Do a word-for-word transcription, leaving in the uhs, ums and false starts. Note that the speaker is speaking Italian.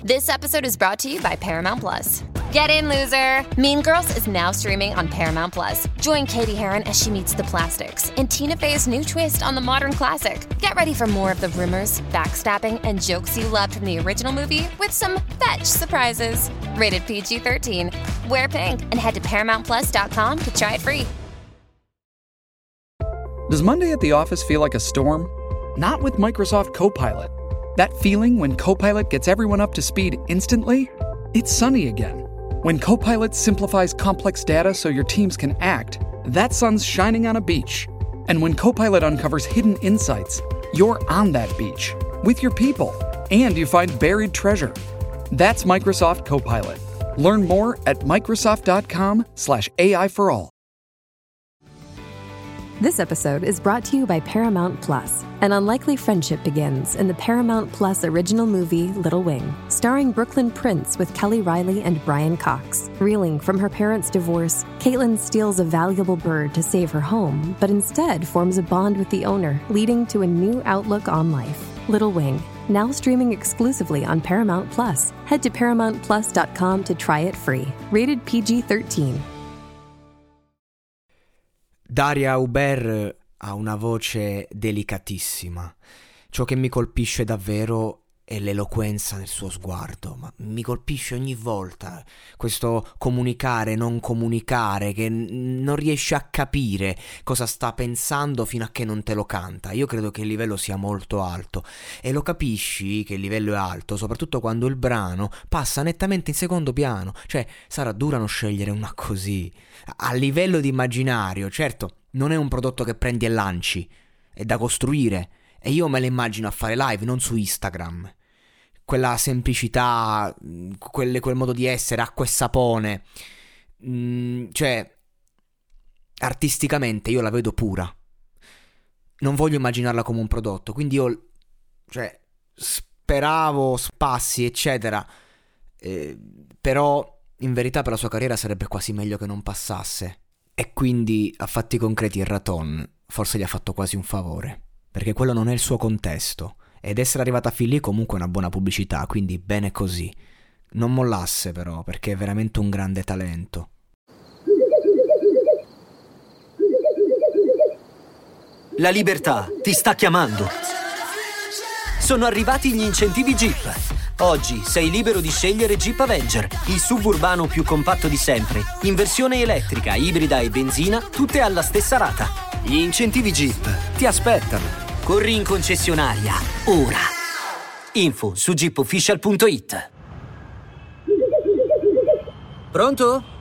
This episode is brought to you by Paramount Plus. Get in, loser! Mean Girls is now streaming on Paramount Plus. Join Katie Heron as she meets the plastics in Tina Fey's new twist on the modern classic. Get ready for more of the rumors, backstabbing, and jokes you loved from the original movie with some fetch surprises. Rated P G thirteen. Wear pink and head to paramount plus dot com to try it free. Does Monday at the office feel like a storm? Not with Microsoft Copilot. That feeling when Copilot gets everyone up to speed instantly? It's sunny again. When Copilot simplifies complex data so your teams can act, that sun's shining on a beach. And when Copilot uncovers hidden insights, you're on that beach with your people, and you find buried treasure. That's Microsoft Copilot. Learn more at Microsoft.com slash AI for all. This episode is brought to you by Paramount Plus. An unlikely friendship begins in the Paramount Plus original movie Little Wing, starring Brooklyn Prince with Kelly Riley and Brian Cox. Reeling from her parents' divorce, Caitlin steals a valuable bird to save her home, but instead forms a bond with the owner, leading to a new outlook on life. Little Wing, now streaming exclusively on Paramount Plus. Head to paramount plus dot com to try it free. Rated P G thirteen. Daria Hubert ha una voce delicatissima. Ciò che mi colpisce davvero è l'eloquenza del suo sguardo, ma mi colpisce ogni volta questo comunicare, non comunicare, che n- non riesce a capire cosa sta pensando fino a che non te lo canta. Io credo che il livello sia molto alto e lo capisci che il livello è alto soprattutto quando il brano passa nettamente in secondo piano. Cioè, sarà dura non scegliere una così. A livello di immaginario, certo, non è un prodotto che prendi e lanci, è da costruire. E io me la immagino a fare live, non su Instagram. Quella semplicità, quelle, quel modo di essere, acqua e sapone. Mm, cioè, artisticamente io la vedo pura. Non voglio immaginarla come un prodotto. Quindi io, cioè, speravo spassi, eccetera. Eh, però, in verità, per la sua carriera sarebbe quasi meglio che non passasse. E quindi, a fatti concreti, il Raton forse gli ha fatto quasi un favore. Perché quello non è il suo contesto, ed essere arrivata fin lì comunque è una buona pubblicità, quindi bene così. Non mollasse però, perché è veramente un grande talento. La libertà ti sta chiamando. Sono arrivati gli incentivi Jeep. Oggi sei libero di scegliere Jeep Avenger, il suburbano più compatto di sempre, in versione elettrica, ibrida e benzina, tutte alla stessa rata. Gli incentivi Jeep ti aspettano. Corri in concessionaria, ora. Info su jeep official punto it. Pronto?